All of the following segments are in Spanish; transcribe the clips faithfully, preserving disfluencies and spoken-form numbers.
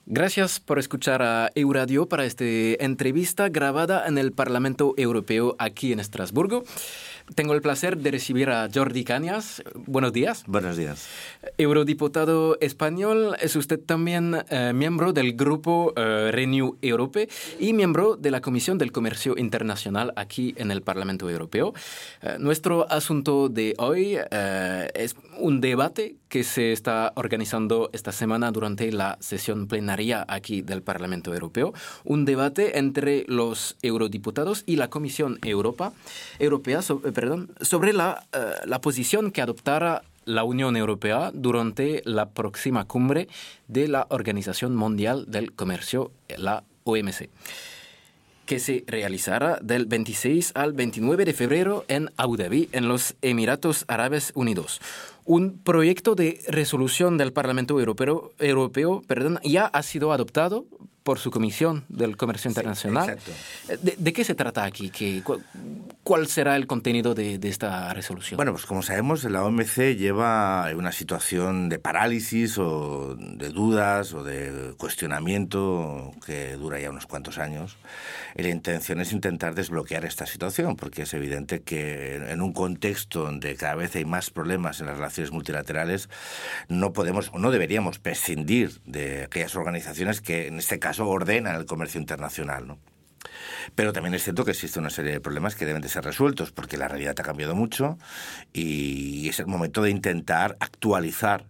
Gracias por escuchar a Euradio para esta entrevista grabada en el Parlamento Europeo aquí en Estrasburgo. Tengo el placer de recibir a Jordi Cañas. Buenos días. Buenos días. Eurodiputado español, es usted también eh, miembro del grupo eh, Renew Europe y miembro de la Comisión del Comercio Internacional aquí en el Parlamento Europeo. Eh, nuestro asunto de hoy eh, es un debate que se está organizando esta semana durante la sesión plenaria aquí del Parlamento Europeo. Un debate entre los eurodiputados y la Comisión Europa, Europea sobre, perdón, sobre la, uh, la posición que adoptará la Unión Europea durante la próxima cumbre de la Organización Mundial del Comercio, la O M C, que se realizará del veintiséis al veintinueve de febrero en Abu Dhabi, en los Emiratos Árabes Unidos. Un proyecto de resolución del Parlamento Europeo, Europeo perdón, ya ha sido adoptado por su Comisión del Comercio Internacional. Sí, ¿De, ¿De qué se trata aquí? ¿Qué, cu ¿Cuál será el contenido de, de esta resolución? Bueno, pues como sabemos, la O M C lleva una situación de parálisis o de dudas o de cuestionamiento que dura ya unos cuantos años. Y la intención es intentar desbloquear esta situación, porque es evidente que en un contexto donde cada vez hay más problemas en las relaciones multilaterales, no podemos o no deberíamos prescindir de aquellas organizaciones que en este caso ordenan el comercio internacional, ¿no? Pero también es cierto que existe una serie de problemas que deben de ser resueltos, porque la realidad ha cambiado mucho y es el momento de intentar actualizar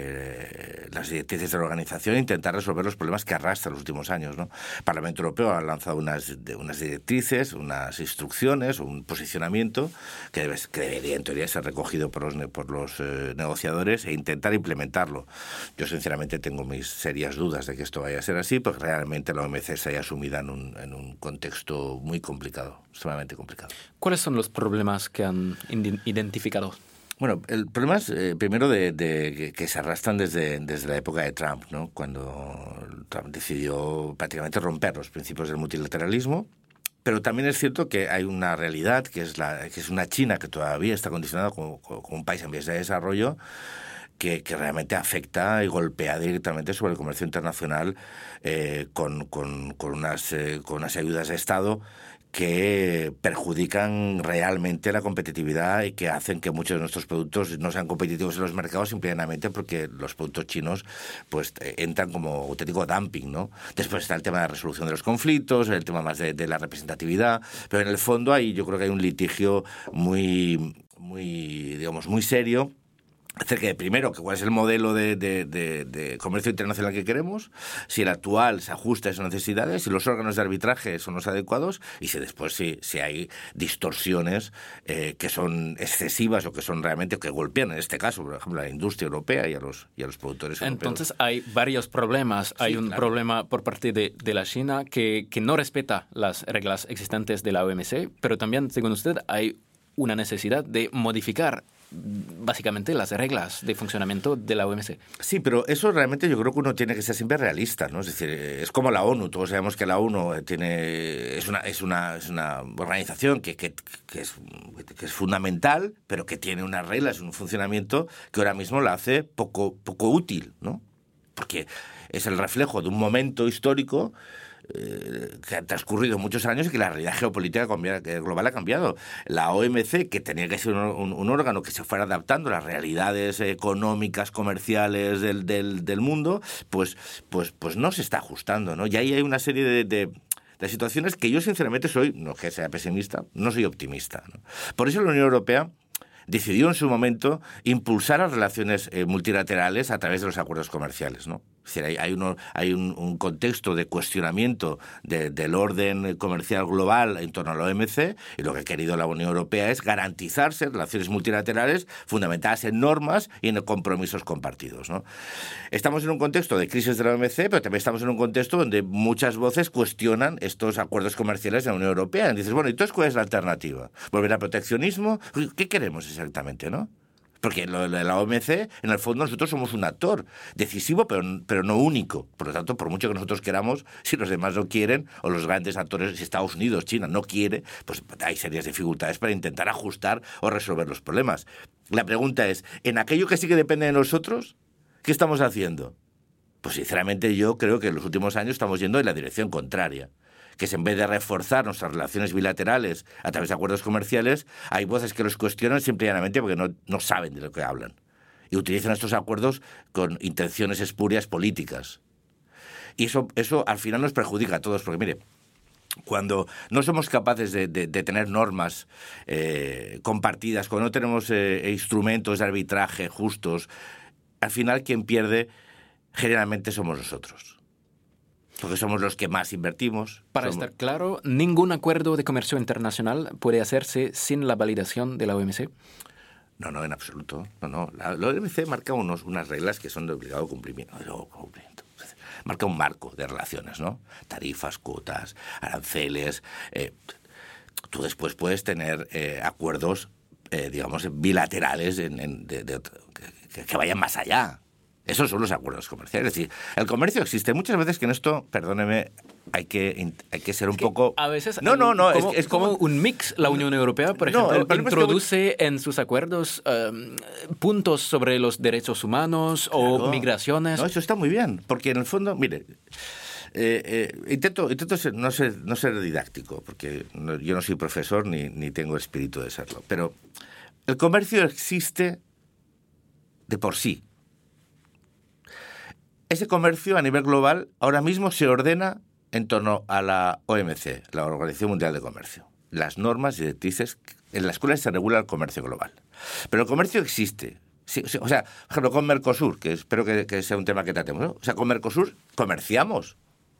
Eh, las directrices de la organización e intentar resolver los problemas que arrastran los últimos años, ¿no? El Parlamento Europeo ha lanzado unas, de, unas directrices, unas instrucciones, un posicionamiento que, debe, que debería en teoría ser recogido por los, por los eh, negociadores e intentar implementarlo. Yo sinceramente tengo mis serias dudas de que esto vaya a ser así, porque realmente la O M C se haya sumida en un, en un contexto muy complicado, extremadamente complicado. ¿Cuáles son los problemas que han identificado? Bueno, el problema es, eh, primero, de, de que, que se arrastran desde, desde la época de Trump, ¿no? Cuando Trump decidió prácticamente romper los principios del multilateralismo. Pero también es cierto que hay una realidad, que es, la, que es una China que todavía está condicionada como, como un país en vías de desarrollo, que, que realmente afecta y golpea directamente sobre el comercio internacional eh, con, con, con, unas, eh, con unas ayudas de Estado que perjudican realmente la competitividad y que hacen que muchos de nuestros productos no sean competitivos en los mercados simplemente porque los productos chinos pues entran como auténtico dumping, ¿no? Después está el tema de la resolución de los conflictos, el tema más de, de la representatividad, pero en el fondo ahí yo creo que hay un litigio muy, muy, digamos, muy serio acerca de, primero, que cuál es el modelo de, de, de, de comercio internacional que queremos, si el actual se ajusta a esas necesidades, si los órganos de arbitraje son los adecuados y si después si, si hay distorsiones eh, que son excesivas o que son realmente, que golpean, en este caso, por ejemplo, a la industria europea y a los, y a los productores europeos. Entonces hay varios problemas. Sí, hay un claro. problema por parte de, de la China que, que no respeta las reglas existentes de la O M C, pero también, según usted, hay una necesidad de modificar básicamente las reglas de funcionamiento de la O M C. Sí, pero eso realmente yo creo que uno tiene que ser siempre realista, ¿no? Es decir, es como la ONU. Todos sabemos que la ONU tiene es una es una es una organización que que, que es que es fundamental, pero que tiene unas reglas, un funcionamiento que ahora mismo la hace poco poco útil, ¿no? Porque es el reflejo de un momento histórico Eh, que han transcurrido muchos años y que la realidad geopolítica global ha cambiado. La O M C, que tenía que ser un, un, un órgano que se fuera adaptando a las realidades económicas, comerciales del, del, del mundo, pues, pues, pues no se está ajustando, ¿no? Y ahí hay una serie de, de de situaciones que yo sinceramente soy, no que sea pesimista, no soy optimista, ¿no? Por eso la Unión Europea decidió en su momento impulsar las relaciones eh, multilaterales a través de los acuerdos comerciales, ¿no? Es decir, hay, hay, uno, hay un, un contexto de cuestionamiento de, del orden comercial global en torno a la O M C, y lo que ha querido la Unión Europea es garantizarse relaciones multilaterales fundamentadas en normas y en compromisos compartidos, ¿no? Estamos en un contexto de crisis de la O M C, pero también estamos en un contexto donde muchas voces cuestionan estos acuerdos comerciales de la Unión Europea. Y dices, bueno, entonces, ¿cuál es la alternativa? ¿Volver al proteccionismo? ¿Qué queremos exactamente, no? Porque lo de la O M C, en el fondo, nosotros somos un actor decisivo, pero, pero no único. Por lo tanto, por mucho que nosotros queramos, si los demás no quieren, o los grandes actores, si Estados Unidos, China, no quiere, pues hay serias dificultades para intentar ajustar o resolver los problemas. La pregunta es, ¿en aquello que sí que depende de nosotros, qué estamos haciendo? Pues sinceramente yo creo que en los últimos años estamos yendo en la dirección contraria. Que es en vez de reforzar nuestras relaciones bilaterales a través de acuerdos comerciales, hay voces que los cuestionan simple y llanamente porque no, no saben de lo que hablan. Y utilizan estos acuerdos con intenciones espurias políticas. Y eso, eso al final nos perjudica a todos, porque mire, cuando no somos capaces de, de, de tener normas eh, compartidas, cuando no tenemos eh, instrumentos de arbitraje justos, al final quien pierde generalmente somos nosotros. Porque somos los que más invertimos. Para somos... estar claro, ningún acuerdo de comercio internacional puede hacerse sin la validación de la O M C. No, no, en absoluto. No, no. La, la O M C marca unos, unas reglas que son de obligado cumplimiento. cumplimiento. Marca un marco de relaciones, ¿no? Tarifas, cuotas, aranceles. Eh, tú después puedes tener eh, acuerdos, eh, digamos, bilaterales en, en, de, de, que, que vayan más allá. Esos son los acuerdos comerciales. Es decir, el comercio existe. Muchas veces que en esto, perdóneme, hay que, hay que ser un es que poco... A veces, no, no, no, como, es, es como un mix. La Unión Europea, por no, ejemplo, introduce es que... en sus acuerdos um, puntos sobre los derechos humanos claro, o migraciones. No, eso está muy bien, porque en el fondo, mire... Eh, eh, intento intento ser, no, ser, no ser didáctico, porque no, yo no soy profesor ni, ni tengo espíritu de serlo, pero el comercio existe de por sí. Ese comercio a nivel global ahora mismo se ordena en torno a la O M C, la Organización Mundial de Comercio. Las normas y directrices en las cuales se regula el comercio global. Pero el comercio existe. Sí, sí, o sea, por ejemplo, con Mercosur, que espero que, que sea un tema que tratemos, ¿no? O sea, con Mercosur comerciamos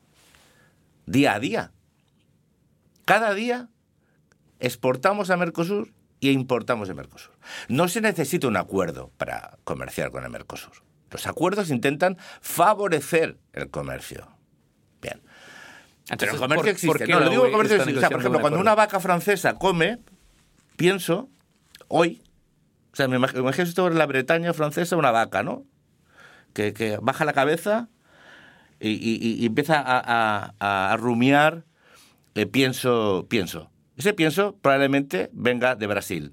día a día. Cada día exportamos a Mercosur y importamos de Mercosur. No se necesita un acuerdo para comerciar con el Mercosur. Los acuerdos intentan favorecer el comercio. Bien. Entonces, pero el comercio ¿por, existe. ¿por qué no, lo digo el comercio existe. O sea, por ejemplo, un cuando una vaca francesa come, pienso, hoy, o sea, me imagino, me imagino esto en la Bretaña francesa, una vaca, ¿no? Que, que baja la cabeza y, y, y empieza a, a, a rumiar, eh, pienso, pienso. Ese pienso probablemente venga de Brasil.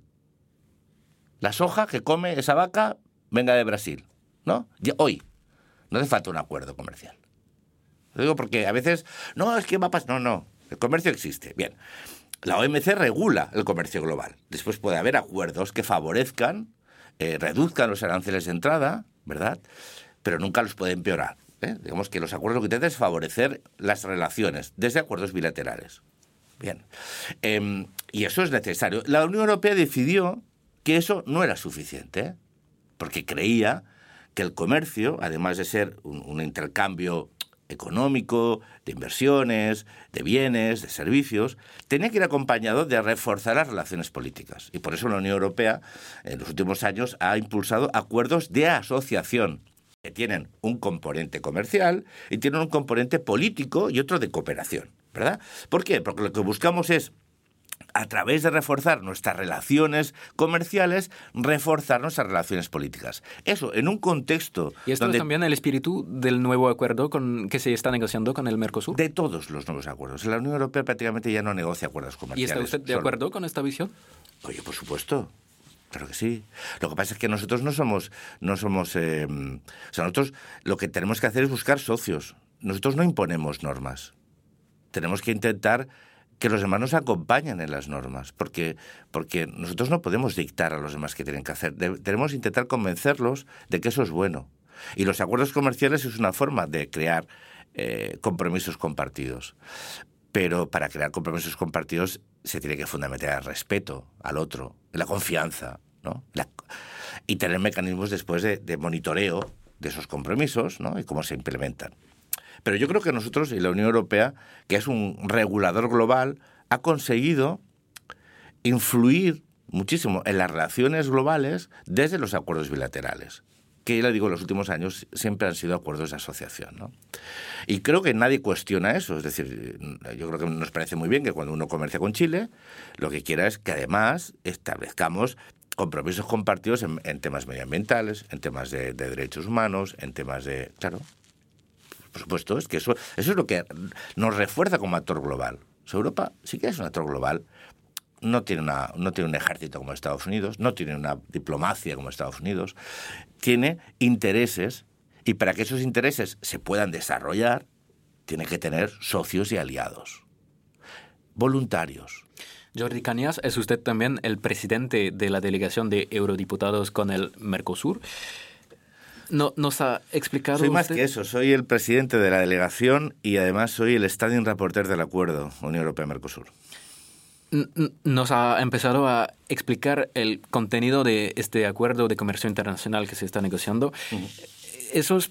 La soja que come esa vaca venga de Brasil. ¿No? Hoy. No hace falta un acuerdo comercial. Lo digo porque a veces, no, es que va a pasar... No, no. El comercio existe. Bien. La O M C regula el comercio global. Después puede haber acuerdos que favorezcan, eh, reduzcan los aranceles de entrada, ¿verdad? Pero nunca los puede empeorar. ¿eh? Digamos que los acuerdos lo que intentan es favorecer las relaciones, desde acuerdos bilaterales. Bien. Eh, y eso es necesario. La Unión Europea decidió que eso no era suficiente, ¿eh? Porque creía que el comercio, además de ser un, un intercambio económico, de inversiones, de bienes, de servicios, tenía que ir acompañado de reforzar las relaciones políticas. Y por eso la Unión Europea, en los últimos años, ha impulsado acuerdos de asociación que tienen un componente comercial y tienen un componente político y otro de cooperación, ¿verdad? ¿Por qué? Porque lo que buscamos es, a través de reforzar nuestras relaciones comerciales, reforzar nuestras relaciones políticas. Eso, en un contexto... ¿Y esto donde... es también el espíritu del nuevo acuerdo con, que se está negociando con el Mercosur? De todos los nuevos acuerdos. La Unión Europea prácticamente ya no negocia acuerdos comerciales. ¿Y está usted de Son... acuerdo con esta visión? Oye, por supuesto. Claro que sí. Lo que pasa es que nosotros no somos... no somos eh... O sea, nosotros lo que tenemos que hacer es buscar socios. Nosotros no imponemos normas. Tenemos que intentar que los demás nos acompañen en las normas, porque, porque nosotros no podemos dictar a los demás qué tienen que hacer. De, tenemos que intentar convencerlos de que eso es bueno. Y los acuerdos comerciales es una forma de crear eh, compromisos compartidos. Pero para crear compromisos compartidos se tiene que fundamentar el respeto al otro, la confianza, ¿no? La, y tener mecanismos después de, de monitoreo de esos compromisos, ¿no? Y cómo se implementan. Pero yo creo que nosotros y la Unión Europea, que es un regulador global, ha conseguido influir muchísimo en las relaciones globales desde los acuerdos bilaterales, que, ya digo, en los últimos años siempre han sido acuerdos de asociación, ¿no? Y creo que nadie cuestiona eso. Es decir, yo creo que nos parece muy bien que cuando uno comercia con Chile, lo que quiera es que además establezcamos compromisos compartidos en, en temas medioambientales, en temas de, de derechos humanos, en temas de... Claro, por supuesto, es que eso, eso es lo que nos refuerza como actor global. O sea, Europa sí que es un actor global. No tiene, una, no tiene un ejército como Estados Unidos, no tiene una diplomacia como Estados Unidos, tiene intereses Y para que esos intereses se puedan desarrollar, tiene que tener socios y aliados. Voluntarios. Jordi Cañas, ¿es usted también el presidente de la delegación de eurodiputados con el Mercosur? No, ¿Nos ha explicado Soy usted? más que eso, soy el presidente de la delegación y además soy el standing rapporteur del acuerdo Unión Europea-Mercosur. Nos ha empezado a explicar el contenido de este acuerdo de comercio internacional que se está negociando. Uh-huh. Esos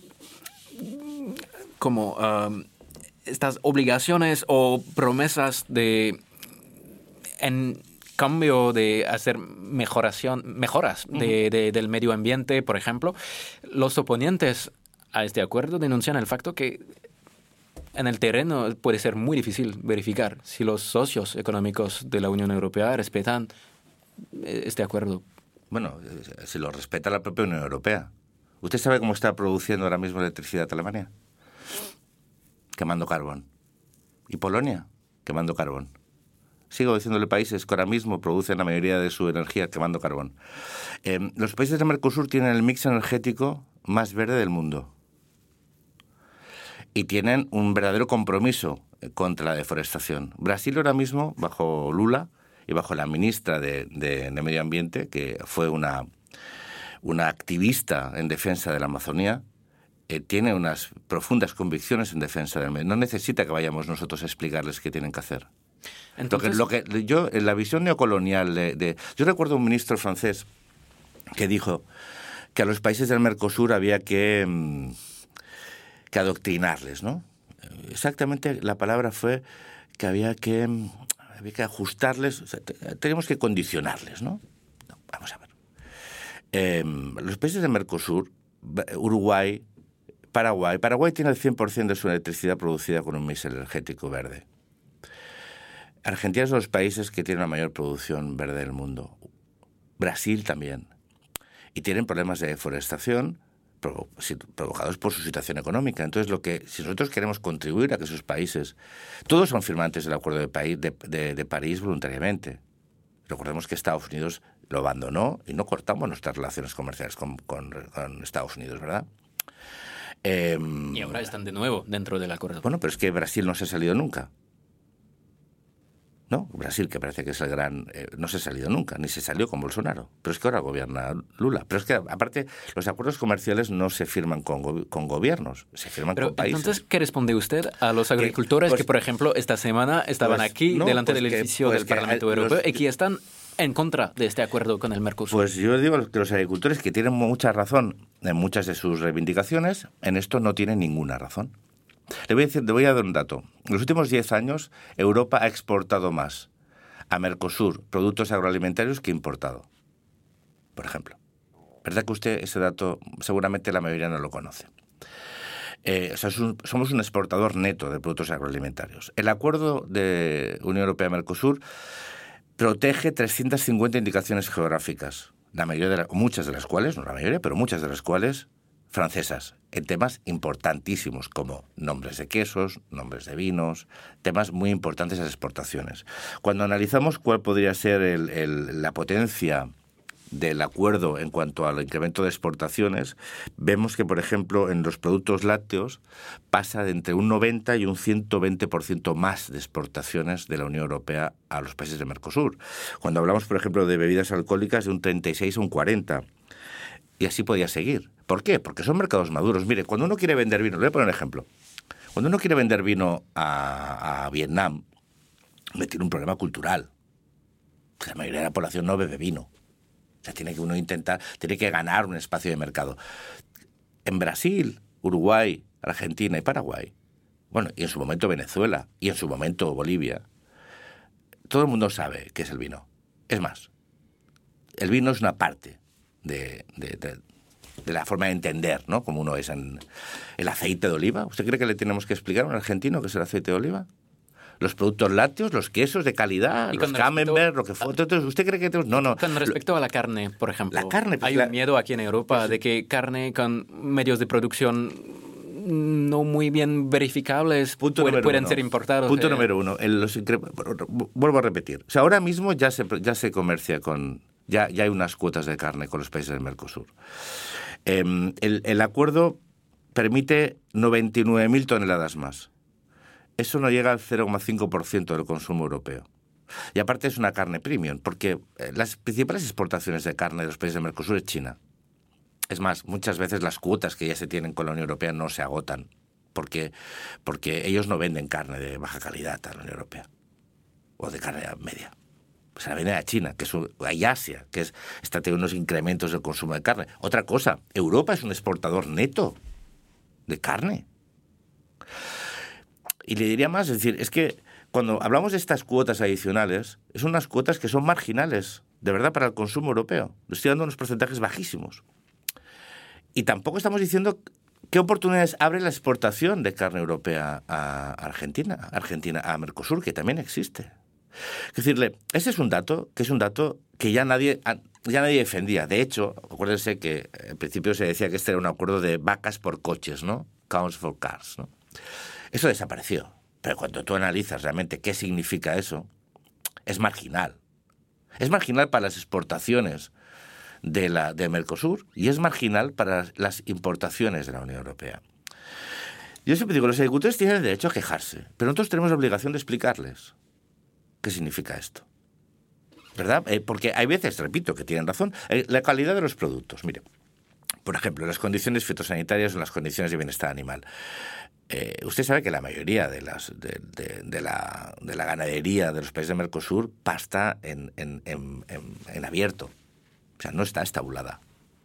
como um, estas obligaciones o promesas de en cambio de hacer mejoración, mejoras uh-huh. de, de, del medio ambiente, por ejemplo, los oponentes a este acuerdo denuncian el facto que en el terreno puede ser muy difícil verificar si los socios económicos de la Unión Europea respetan este acuerdo. Bueno, si lo respeta la propia Unión Europea. ¿Usted sabe cómo está produciendo ahora mismo electricidad Alemania? Quemando carbón. ¿Y Polonia? Quemando carbón. Sigo diciéndole países que ahora mismo producen la mayoría de su energía quemando carbón. Eh, los países del Mercosur tienen el mix energético más verde del mundo. Y tienen un verdadero compromiso contra la deforestación. Brasil ahora mismo, bajo Lula y bajo la ministra de, de, de Medio Ambiente, que fue una, una activista en defensa de la Amazonía, eh, tiene unas profundas convicciones en defensa del medio. No necesita que vayamos nosotros a explicarles qué tienen que hacer. Entonces, lo que, lo que yo, en la visión neocolonial de, de... Yo recuerdo un ministro francés que dijo que a los países del Mercosur había que... Mmm, que adoctrinarles, ¿no? Exactamente la palabra fue que había que, había que ajustarles, o sea, teníamos que condicionarles, ¿no? no vamos a ver. Eh, los países de Mercosur, Uruguay, Paraguay, Paraguay tiene el cien por ciento de su electricidad producida con un mix energético verde. Argentina es uno de los países que tiene la mayor producción verde del mundo. Brasil también. Y tienen problemas de deforestación provocados por su situación económica. Entonces, lo que si nosotros queremos contribuir a que esos países, todos son firmantes del Acuerdo de, París, de, de, de París voluntariamente. Recordemos que Estados Unidos lo abandonó y no cortamos nuestras relaciones comerciales con, con, con Estados Unidos, ¿verdad? Eh, y ahora están de nuevo dentro del acuerdo. Bueno, pero es que Brasil no se ha salido nunca. ¿No? Brasil, que parece que es el gran... Eh, no se ha salido nunca, ni se salió con Bolsonaro. Pero es que ahora gobierna Lula. Pero es que, aparte, los acuerdos comerciales no se firman con, go con gobiernos, se firman Pero, con países. Entonces, ¿qué responde usted a los agricultores pues, que, por ejemplo, esta semana estaban pues, aquí, no, delante pues del que, edificio pues del Parlamento Europeo, los, y que están en contra de este acuerdo con el Mercosur? Pues yo digo que los agricultores, que tienen mucha razón en muchas de sus reivindicaciones, en esto no tienen ninguna razón. Le voy a decir, le voy a dar un dato. En los últimos diez años, Europa ha exportado más a Mercosur productos agroalimentarios que importado, por ejemplo. ¿Verdad que usted ese dato seguramente la mayoría no lo conoce? Eh, o sea, es un, somos un exportador neto de productos agroalimentarios. El acuerdo de Unión Europea-Mercosur protege trescientas cincuenta indicaciones geográficas, la mayoría de la, muchas de las cuales, no la mayoría, pero muchas de las cuales francesas, en temas importantísimos como nombres de quesos, nombres de vinos, temas muy importantes en las exportaciones. Cuando analizamos cuál podría ser el, el, la potencia del acuerdo en cuanto al incremento de exportaciones, vemos que, por ejemplo, en los productos lácteos pasa de entre un noventa y un ciento veinte por ciento más de exportaciones de la Unión Europea a los países de Mercosur. Cuando hablamos, por ejemplo, de bebidas alcohólicas, de un treinta y seis a un cuarenta. Y así podía seguir. ¿Por qué? Porque son mercados maduros. Mire, cuando uno quiere vender vino, le voy a poner un ejemplo. Cuando uno quiere vender vino a, a Vietnam, me tiene un problema cultural. La mayoría de la población no bebe vino. O sea, tiene que uno intentar, tiene que ganar un espacio de mercado. En Brasil, Uruguay, Argentina y Paraguay, bueno, y en su momento Venezuela, y en su momento Bolivia, todo el mundo sabe qué es el vino. Es más, el vino es una parte de, de, de, de la forma de entender, ¿no? Como uno es en el aceite de oliva. ¿Usted cree que le tenemos que explicar a un argentino qué es el aceite de oliva? Los productos lácteos, los quesos de calidad, los camembert, lo que fue. ¿Usted cree que tenemos? No, no. Con respecto a la carne, por ejemplo. La carne. Pues hay la... un miedo aquí en Europa pues, de que carne con medios de producción no muy bien verificables punto pueden, pueden uno. ser importados. Punto eh. número uno. El, los incre... Vuelvo a repetir. O sea, ahora mismo ya se, ya se comercia con... Ya, ya hay unas cuotas de carne con los países del Mercosur. Eh, el, el acuerdo permite noventa y nueve mil toneladas más. Eso no llega al cero coma cinco por ciento del consumo europeo. Y aparte es una carne premium, porque las principales exportaciones de carne de los países del Mercosur es China. Es más, muchas veces las cuotas que ya se tienen con la Unión Europea no se agotan, porque, porque ellos no venden carne de baja calidad a la Unión Europea, o de carne media. Se la venden a China, que es un, y Asia, que es, está teniendo unos incrementos del consumo de carne. Otra cosa, Europa es un exportador neto de carne. Y le diría más, es decir, es que cuando hablamos de estas cuotas adicionales, son unas cuotas que son marginales, de verdad, para el consumo europeo. Le estoy dando unos porcentajes bajísimos. Y tampoco estamos diciendo qué oportunidades abre la exportación de carne europea a Argentina, Argentina a Mercosur, que también existe. Es decirle, ese es un dato que es un dato que ya nadie, ya nadie defendía. De hecho, acuérdense que al principio se decía que este era un acuerdo de vacas por coches, ¿no? Cows for cars, ¿no? Eso desapareció. Pero cuando tú analizas realmente qué significa eso, es marginal. Es marginal para las exportaciones de la de Mercosur y es marginal para las importaciones de la Unión Europea. Yo siempre digo, los agricultores tienen el derecho a quejarse, pero nosotros tenemos la obligación de explicarles qué significa esto. ¿Verdad? Eh, porque hay veces, repito, que tienen razón, eh, la calidad de los productos. Mire, por ejemplo, las condiciones fitosanitarias o las condiciones de bienestar animal. Eh, usted sabe que la mayoría de, las, de, de, de, la, de la ganadería de los países de Mercosur pasta en, en, en, en, en abierto. O sea, no está estabulada.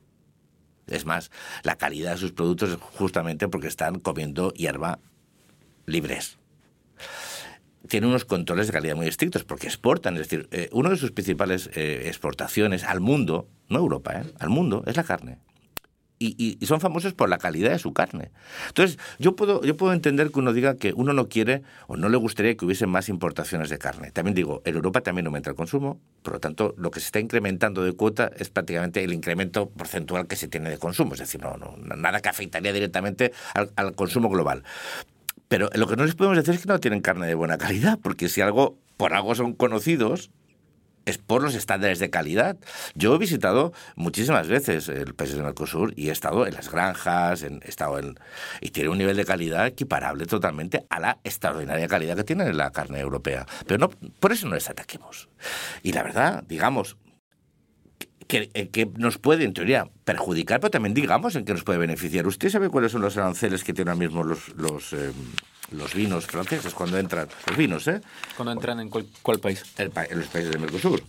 Es más, la calidad de sus productos es justamente porque están comiendo hierba libres. Tienen unos controles de calidad muy estrictos porque exportan. Es decir, eh, una de sus principales eh, exportaciones al mundo, no a Europa, eh, al mundo, es la carne. Y, y, y son famosos por la calidad de su carne. Entonces, yo puedo, yo puedo entender que uno diga que uno no quiere o no le gustaría que hubiese más importaciones de carne. También digo, en Europa también aumenta el consumo, por lo tanto, lo que se está incrementando de cuota es prácticamente el incremento porcentual que se tiene de consumo. Es decir, no, no, nada que afectaría directamente al, al consumo global. Pero lo que no les podemos decir es que no tienen carne de buena calidad, porque si algo, por algo son conocidos, es por los estándares de calidad. Yo he visitado muchísimas veces el país del Mercosur y he estado en las granjas, en, he estado en, y tiene un nivel de calidad equiparable totalmente a la extraordinaria calidad que tiene la carne europea. Pero no, por eso no les ataquemos. Y la verdad, digamos, que, que nos puede, en teoría, perjudicar, pero también digamos en qué nos puede beneficiar. ¿Usted sabe cuáles son los aranceles que tienen ahora mismo los... los eh, los vinos franceses cuando entran, los vinos, ¿eh? Cuando entran en cuál, cuál país? El, en los países del Mercosur.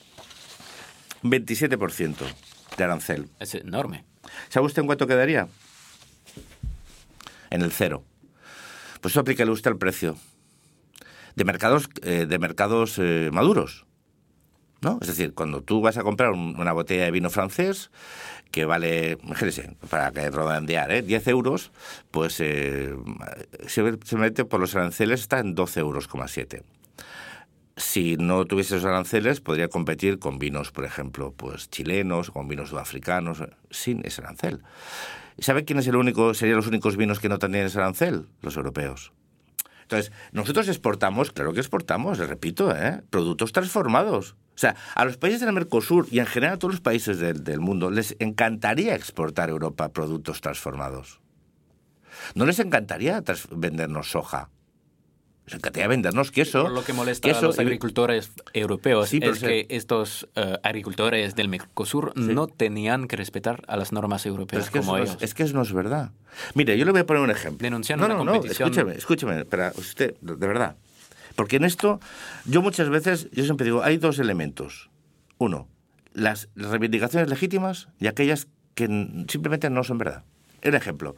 veintisiete por ciento de arancel. Es enorme. ¿Sabe usted en cuánto quedaría? En el cero. Pues eso aplícale usted al precio de mercados, eh, de mercados eh, maduros, ¿no? Es decir, cuando tú vas a comprar un, una botella de vino francés que vale, imagínese, para que redondear, ¿eh? diez euros, pues eh, se, se mete por los aranceles, está en doce euros coma siete. Si no tuviese esos aranceles, podría competir con vinos, por ejemplo, pues chilenos, con vinos sudafricanos, sin ese arancel. ¿Sabe quién es el único, serían los únicos vinos que no tendrían ese arancel? Los europeos. Entonces, nosotros exportamos, claro que exportamos, le repito, ¿eh? productos transformados. O sea, a los países del Mercosur y en general a todos los países del, del mundo les encantaría exportar a Europa productos transformados. ¿No les encantaría tras- vendernos soja? Les encantaría vendernos queso. Por lo que molesta queso, a los agricultores europeos sí, es se... que estos uh, agricultores del Mercosur sí. no tenían que respetar a las normas europeas es que como ellos. ellos. No, es que eso no es verdad. Mire, yo le voy a poner un ejemplo. Denunciando no, no, una competición... No, escúcheme, escúcheme, para usted, de verdad. Porque en esto, yo muchas veces, yo siempre digo, hay dos elementos. Uno, las reivindicaciones legítimas y aquellas que simplemente no son verdad. Un ejemplo.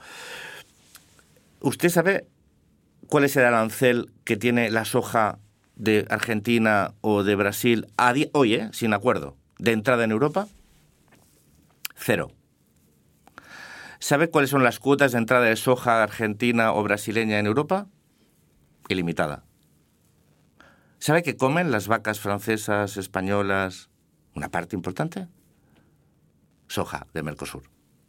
¿Usted sabe cuál es el arancel que tiene la soja de Argentina o de Brasil a di- hoy, eh, sin acuerdo, de entrada en Europa? Cero. ¿Sabe cuáles son las cuotas de entrada de soja argentina o brasileña en Europa? Ilimitada. ¿Sabe qué comen las vacas francesas, españolas? Una parte importante. Soja de Mercosur.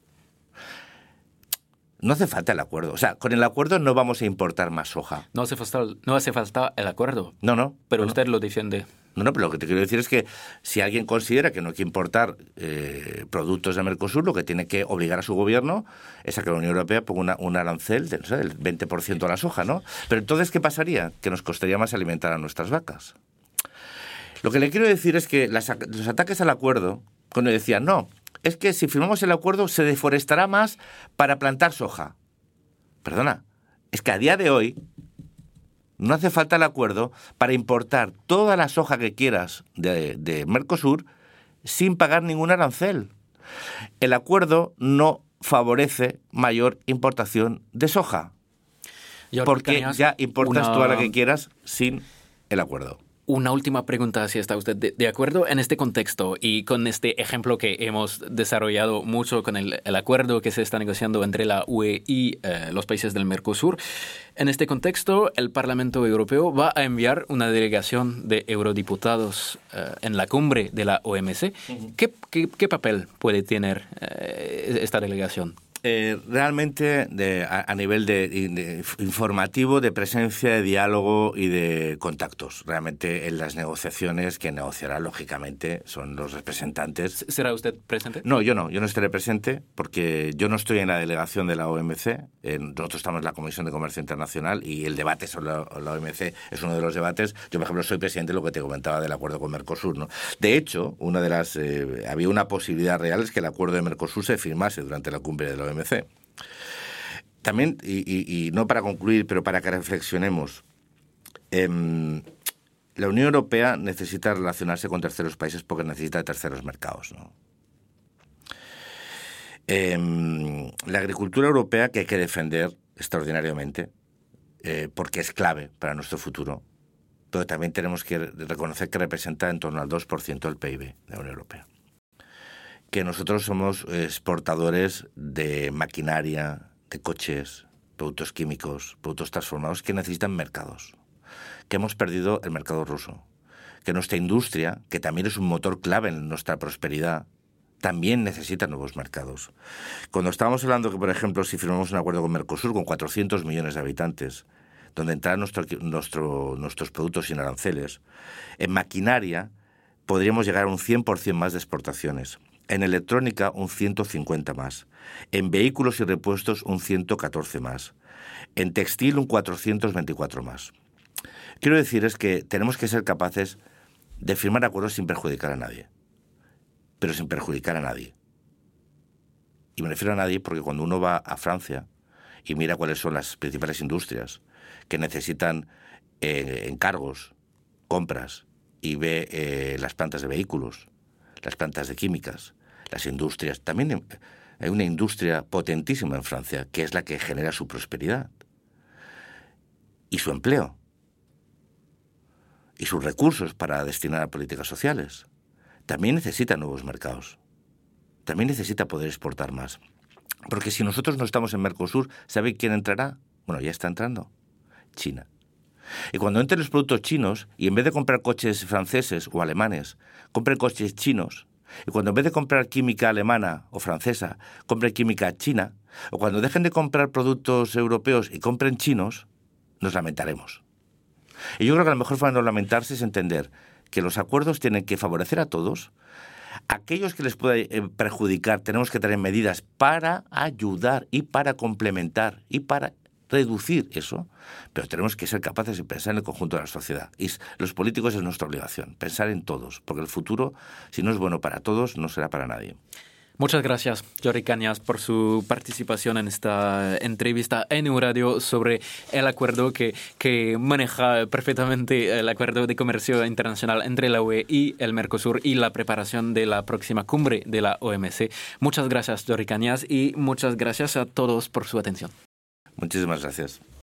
No hace falta el acuerdo. O sea, con el acuerdo no vamos a importar más soja. No hace falta, no hace falta el acuerdo. No, no. Pero no, usted no. lo defiende. No, no, pero lo que te quiero decir es que si alguien considera que no hay que importar eh, productos de Mercosur, lo que tiene que obligar a su gobierno es a que la Unión Europea ponga una, un arancel de, no sé, del veinte por ciento a la soja, ¿no? Pero entonces, ¿qué pasaría? Que nos costaría más alimentar a nuestras vacas. Lo que le quiero decir es que las, los ataques al acuerdo, cuando decían, no, es que si firmamos el acuerdo se deforestará más para plantar soja. Perdona, es que a día de hoy no hace falta el acuerdo para importar toda la soja que quieras de, de Mercosur sin pagar ningún arancel. El acuerdo no favorece mayor importación de soja, porque ya importas una... toda la que quieras sin el acuerdo. Una última pregunta, si está usted de, de acuerdo en este contexto y con este ejemplo que hemos desarrollado mucho con el, el acuerdo que se está negociando entre la U E y eh, los países del Mercosur. En este contexto, el Parlamento Europeo va a enviar una delegación de eurodiputados eh, en la cumbre de la O M C. Uh-huh. ¿Qué, qué, qué papel puede tener eh, esta delegación? Eh, realmente de, a, a nivel de, de informativo, de presencia, de diálogo y de contactos. Realmente en las negociaciones que negociará, lógicamente, son los representantes. ¿Será usted presente? No, yo no. Yo no estaré presente porque yo no estoy en la delegación de la O M C. Eh, nosotros estamos en la Comisión de Comercio Internacional y el debate sobre la, la O M C es uno de los debates. Yo, por ejemplo, soy presidente de lo que te comentaba del acuerdo con Mercosur, ¿no? De hecho, una de las eh, había una posibilidad real es que el acuerdo de Mercosur se firmase durante la cumbre de la O M C. También, y, y, y no para concluir, pero para que reflexionemos, eh, la Unión Europea necesita relacionarse con terceros países porque necesita terceros mercados, ¿no? Eh, la agricultura europea que hay que defender extraordinariamente, eh, porque es clave para nuestro futuro, pero también tenemos que reconocer que representa en torno al dos por ciento del P I B de la Unión Europea. Que nosotros somos exportadores de maquinaria, de coches, productos químicos, productos transformados que necesitan mercados, que hemos perdido el mercado ruso, que nuestra industria, que también es un motor clave en nuestra prosperidad, también necesita nuevos mercados. Cuando estábamos hablando que, por ejemplo, si firmamos un acuerdo con Mercosur con cuatrocientos millones de habitantes, donde entrarán nuestro, nuestro, nuestros productos sin aranceles, en maquinaria podríamos llegar a un cien por ciento más de exportaciones. En electrónica, un ciento cincuenta más. En vehículos y repuestos, un ciento catorce más. En textil, un cuatrocientos veinticuatro más. Quiero decir es que tenemos que ser capaces de firmar acuerdos sin perjudicar a nadie. Pero sin perjudicar a nadie. Y me refiero a nadie porque cuando uno va a Francia y mira cuáles son las principales industrias que necesitan eh, encargos, compras, y ve eh, las plantas de vehículos, las plantas de químicas, las industrias. También hay una industria potentísima en Francia, que es la que genera su prosperidad y su empleo y sus recursos para destinar a políticas sociales. También necesita nuevos mercados. También necesita poder exportar más. Porque si nosotros no estamos en Mercosur, ¿sabe quién entrará? Bueno, ya está entrando. China. Y cuando entren los productos chinos, y en vez de comprar coches franceses o alemanes, compren coches chinos, y cuando en vez de comprar química alemana o francesa, compren química china, o cuando dejen de comprar productos europeos y compren chinos, nos lamentaremos. Y yo creo que la mejor forma de no lamentarse es entender que los acuerdos tienen que favorecer a todos. Aquellos que les pueda perjudicar tenemos que tener medidas para ayudar y para complementar y para reducir eso, pero tenemos que ser capaces de pensar en el conjunto de la sociedad. Y los políticos es nuestra obligación, pensar en todos, porque el futuro, si no es bueno para todos, no será para nadie. Muchas gracias, Jordi Cañas, por su participación en esta entrevista en Euradio sobre el acuerdo que, que maneja perfectamente el acuerdo de comercio internacional entre la U E y el Mercosur y la preparación de la próxima cumbre de la O M C. Muchas gracias, Jordi Cañas, y muchas gracias a todos por su atención. Muchísimas gracias.